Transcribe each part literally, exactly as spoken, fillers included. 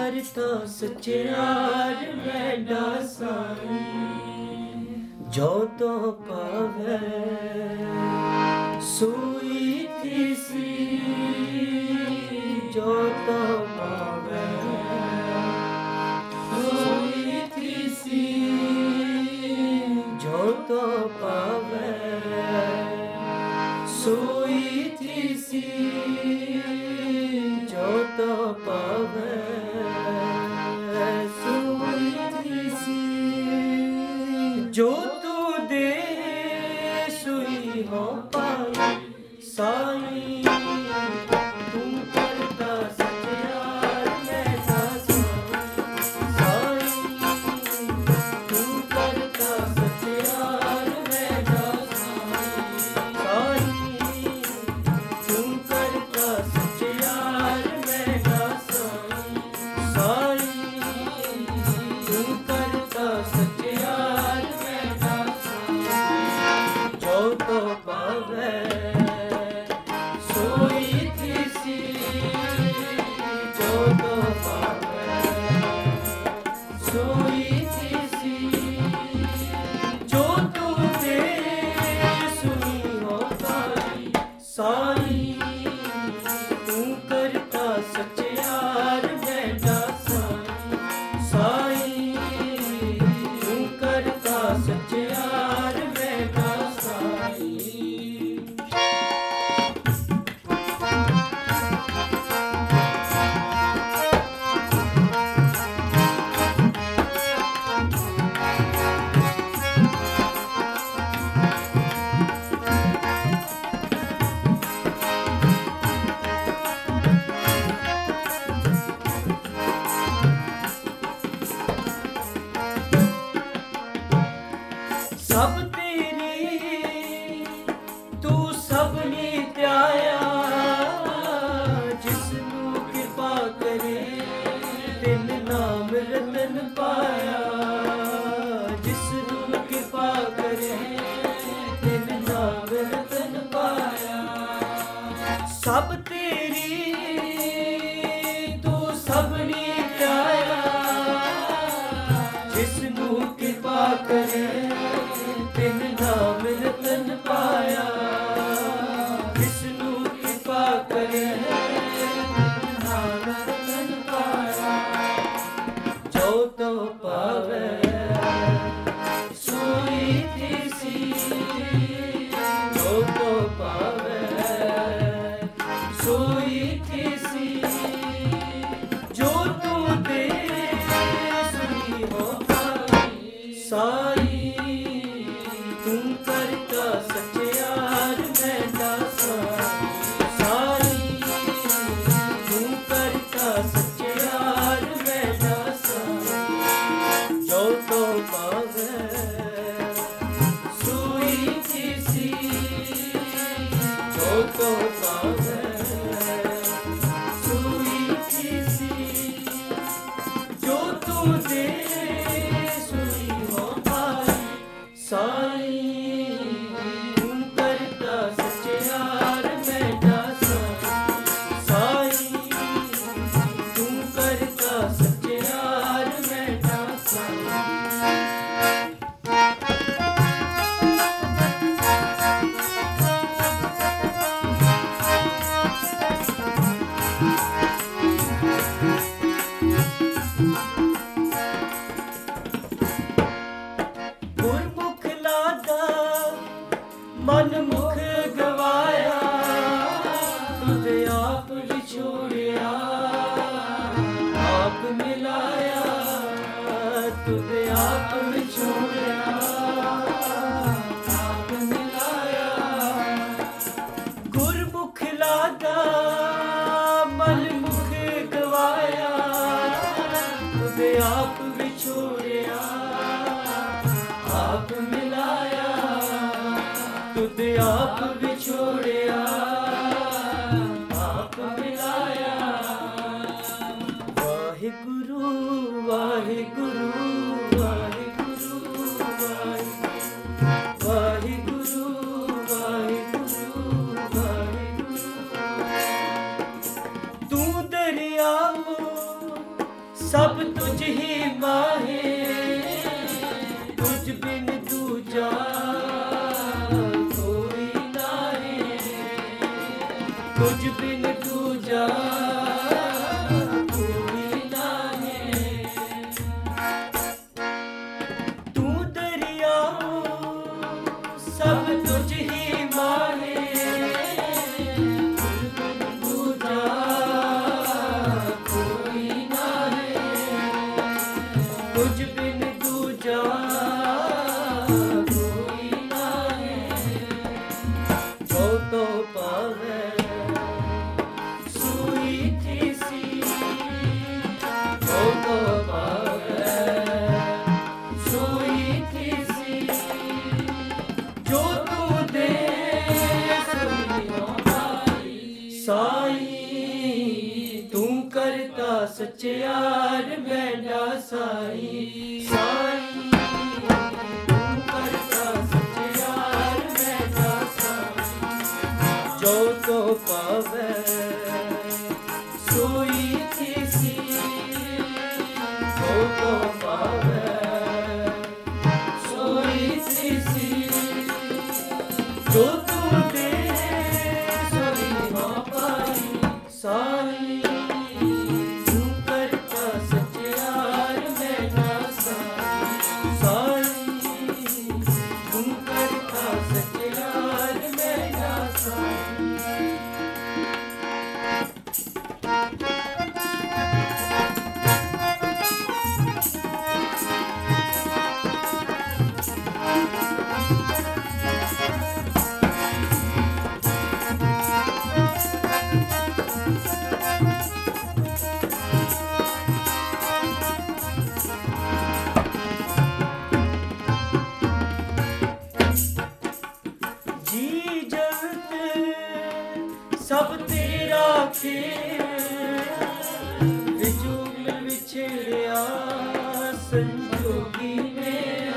ਕਰਤਾ ਸਚਿਆਰ ਮੈਡਾ ਸਾਈਂ, ਜੋ ਤੋ ਪਾਵੈ ਸੋਈ ਤਿਸੀ, ਜੋ ਤੋ ਪਾਵੈ ਸੋਈ ਤਿਸੀ, ਜੋ ਤੋ ਪਾਵੈ ਸੋਈ ਤਿਸੀ, ਜੋ ਤੋ ਪਾਵੈ ਸੋਈ ਤਿਸੀ, ਜੋ ਤੂ ਦੇ ਸੋਈ ਹੋ ਪਾਈ ਸਾਈਂ, ਤੂੰ ਕਰਤਾ ਸਚਿਆਰ ਮੈਡਾ ਸਾਈਂ, ਤੂੰ ਕਰਤਾ ਸਚਿਆਰ ਮੈਡਾ ਸਾਈਂ, ਤੂੰ ਕਰਤਾ ਸਚਿਆਰ ਮੈਡਾ ਸਾਈਂ, ਤੂੰ ਕਰਤਾ ਸਚਿਆਰ ਮੈਡਾ ਸਾਈਂ, ਜੋ ਤੋ ਪਾਵੈ ਸੋਈ ਤਿਸੀ, ਜੋ ਤੋ ਪਾਵੈ ਸੋਈ ਤਿਸੀ, ਜੋ ਤੂ ਦੇ ਸੋਈ ਹੋ ਪਾਈ ਸਾਈਂ, ਤੂੰ ਕਰਤਾ ਸਚਿਆਰ ਮੈਡਾ ਸਾਈਂ, ਤੂੰ ਕਰਤਾ ਸਚਿਆਰ ਮੈਡਾ ਸਾਈਂ। ਸਭ ਤੇਰੀ ਤੂੰ ਸਭਨੀ ਧਿਆਇਆ, ਜਿਸ ਨੂੰ ਕਿਰਪਾ ਕਰੇ ਤਿਨ ਨਾਮ ਰਤਨ ਪਾਇਆ, ਜਿਸ ਨੂੰ ਕਿਰਪਾ ਕਰੇ ਤਿਨ ਨਾਮ ਰਤਨ ਪਾਇਆ। ਸਭ ਤੇਰੀ ਤੂੰ ਸਭਨੀ ਧਿਆਇਆ, ਜਿਸ ਨੂੰ ਕਿਰਪਾ ਕਰੇ ਤਿਨ ਨਾਮ ਰਤਨ ਪਾਇਆ, ਜਿਸ ਨੂੰ ਕਿਰਪਾ ਕਰੇ ਤਿਨ ਨਾਮ ਰਤਨ ਪਾਇਆ, ਜੋ ਤੋ ਪਾਵੈ ਸੋਈ ਤਿਸੀ, ਜੋ ਤੋ ਪਾਵੈ ਸੋਈ ਤਿਸੀ, ਜੋ ਤੂ ਦੇ ਸੋਈ ਹੋ ਪਾਈ ਸਾਈਂ, ਤੂੰ ਕਰਤਾ ਸਚਿਆਰ ਮੈਡਾ ਸਾਈਂ, ਤੂੰ ਕਰਤਾ ਸਚਿਆਰ ਮੈਡਾ ਸਾਈਂ, ਜੋ ਤੋ ਪਾਵੈ ਸੋਈ ਤਿਸੀ, ਜੋ ਤੋ ਪਾਵੈ ਸੋਈ ਤਿਸੀ, ਜੋ ਤੂ ਦੇ ਸੋਈ ਹੋ ਪਾਈ ਸਾਈਂ, ਤੂੰ ਕਰਤਾ ਸਚਿਆਰ ਮੈਡਾ ਸਾਈਂ, ਤੂੰ ਕਰਤਾ ਸਚਿਆਰ ਮੈਡਾ ਸਾਈਂ। ਗੁਰਮੁਖ ਲਾਗਾ ਮਨ ਮੁਖ ਗਵਾਇਆ, ਤੁਧ ਆਪ ਵਿਛੋੜਿਆ ਆਪ ਮਿਲਾਇਆ, ਤੁਧ ਆਪ ਵਿਛੋੜਿਆ ਆਪ ਮਿਲਾਇਆ। ਗੁਰਮੁਖ ਲਾਗਾ ਮਨ ਮੁਖ ਗਵਾਇਆ, ਤੁਧ ਆਪ ਵਿਛੋੜਿਆ ਆਪ ਮਿਲਾਇਆ, ਤੁਧ ਆਪ ਵਿਛੋੜਿਆ ਆਪ ਮਿਲਾਇਆ। ਵਾਹਿਗੁਰੂ ਵਾਹਿਗੁਰੂ ਵਾਹਿਗੁਰੂ ਵਾਹਿਗੁਰੂ ਵਾਹਿਗੁਰੂ ਵਾਹਿਗੁਰੂ, ਤੂੰ ਦਰਿਆਵੋ तुझ बिन दूजा कोई नाहे। तू दरिया सब तुझ ही माहे, तुझ बिन दूजा कोई नाहे, तुझ बिन दूजा कोई नाहे। जो तो पावे सूई थीसी, जो तो पावे सूई थीसी, जो तू दे साई। तू करता सच्चार मैंडा साई, साई तू करता सच्चार मैंडा साई। जो तो पावे सोई थीसी, जो तो पावे सोई थीसी, जो तू दे सोई हो पाई साई। तू करता सच्चार मैंडा साई, साई तू करता सच्चार मैंडा साई। जी जगत सब तेरा खेल, विजू मिल विछड़िया संजोगी में,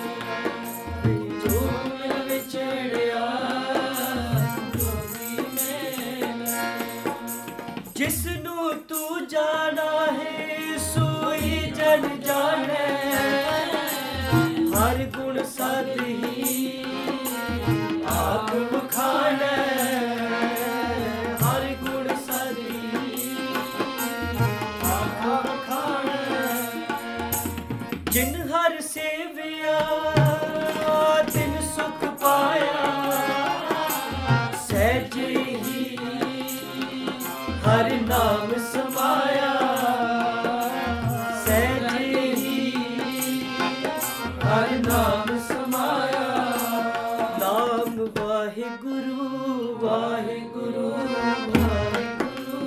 विजू मिल विछड़िया संजोगी में। जिसनू तू जाना है सोई जन जाने, हर गुण सद ही आप बखाने, हर गुण सदी आप बखाने। जिन हर सेविया तिन सुख पाया, सहज ही हर नाम समाया, सहज ही हर नाम समाया। नाम वाहिगुरु वाहिगुरु वाहिगुरु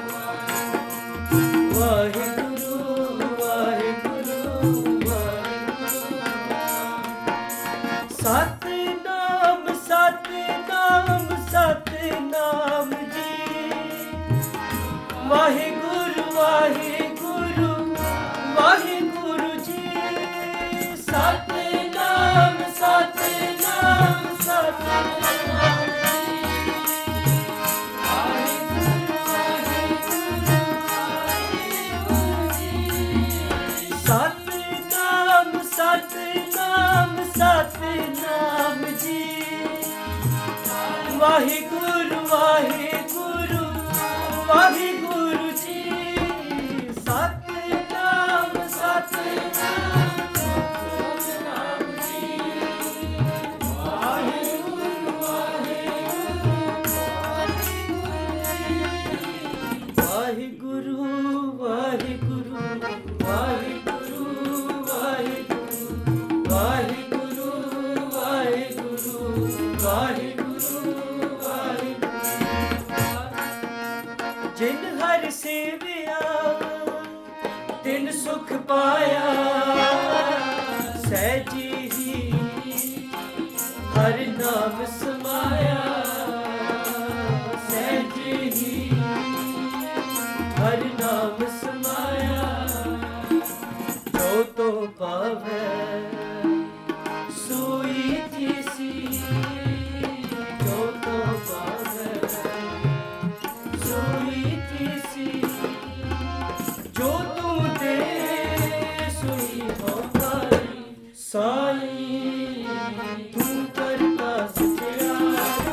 वाहिगुरु वाहिगुरु वाहिगुरु। सतनाम सतनाम सतनाम जी, वाहिगुरु वाहिगुरु वाहिगुरु जी। सतनाम सतनाम सतनाम जी, वाहिगुरु वाहिगुरु वाहिगुरु जी। सतनाम सतनाम सतनाम जी, वाहिगुरु वाहिगुरु वाहिगुरु जी। सतनाम सतनाम सतनाम जी, वाहिगुरु वाहिगुरु वाहिगुरु वाहिगुरु वाहिगुरु वाहिगुरु वाहिगुरु वाहिगुरु वाहिगुरु वाहिगुरु। जिन हर सेविया तिन सुख पाया, सहज ही हर नाम समाया, सहज ही हर नाम समाया। जो तो पावे सोई थीसी, जो तो पावे सोई थीसी, जो तू दे सोई हो पाई साई। तू करता सच्चार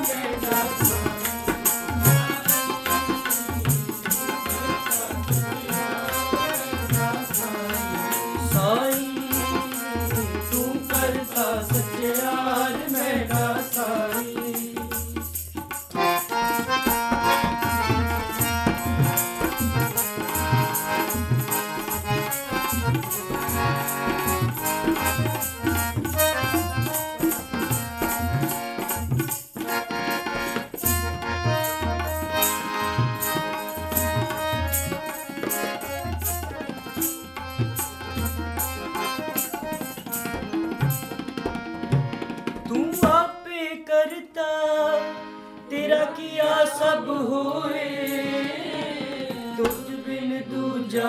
करता तेरा किया सब होए, तुझ बिन दूजा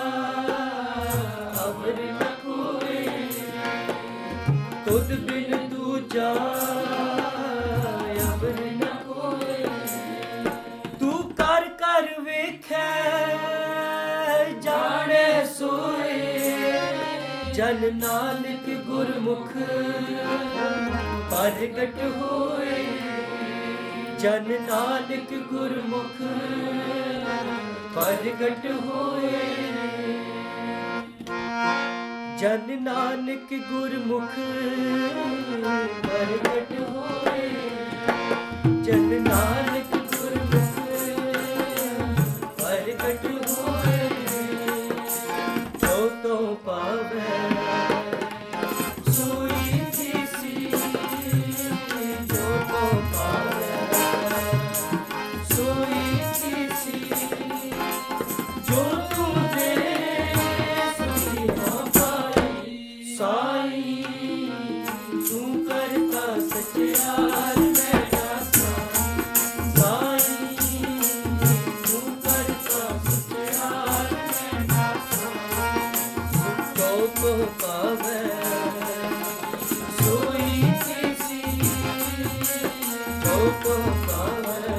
अवर न कोए, तुझ बिन दूजा अवर न कोए। तू कर कर वेखै जाने सोए, जन नानक गुरमुख प्रगट होए, जन नानक गुरमुख प्रगट होए, जन नानक गुरमुख प्रगट होए, जन नानक गुरमुख प्रगट होए। जो तो पावै सोई थीसी, जो तो पावै सोई थीसी, जो तू दे सोई हो पाई। साई तू करता सच्चाई मैं दासा, साई तू करता सच्चाई मैं दासा। जो तो पावै सोई थीसी, जो तो पावै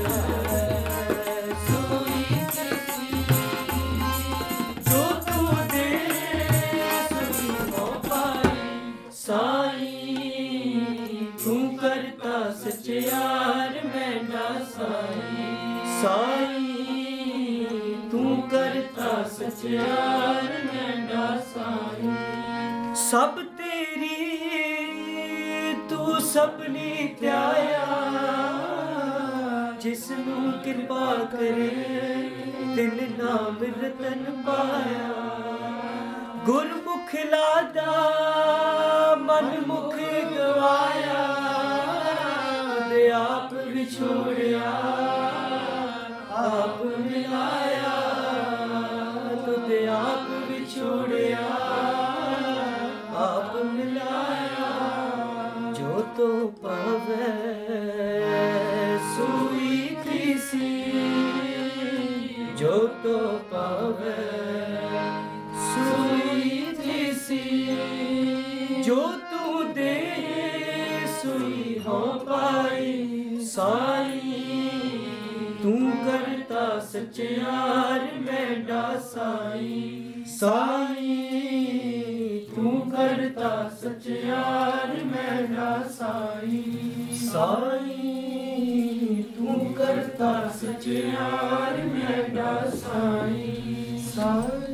सोई थीसी, जो तू दे सोई हो पाई। साई तू करता सच्चार मैं दासाई, साई तू करता सच्चार मैं दासाई। सब तेरी तू सपनी त्याया, जिसनू किरपा करे तिन नाम रतन पाया। गुरमुख लादा मन मुख गवाया, दे आप विछोड़िया आप मिलाया, तुझे आप विछोड़िया आप मिलाया। जो तो पावै सोई थीसी, जो तो पावै सोई थीसी, जो तू दे सोई हो पाई। साई तू करता सच्चार मैं दासाई, साई तू करता सच्चार मैं दासाई, साई तू करता सच्चार मैं दासाई, साई।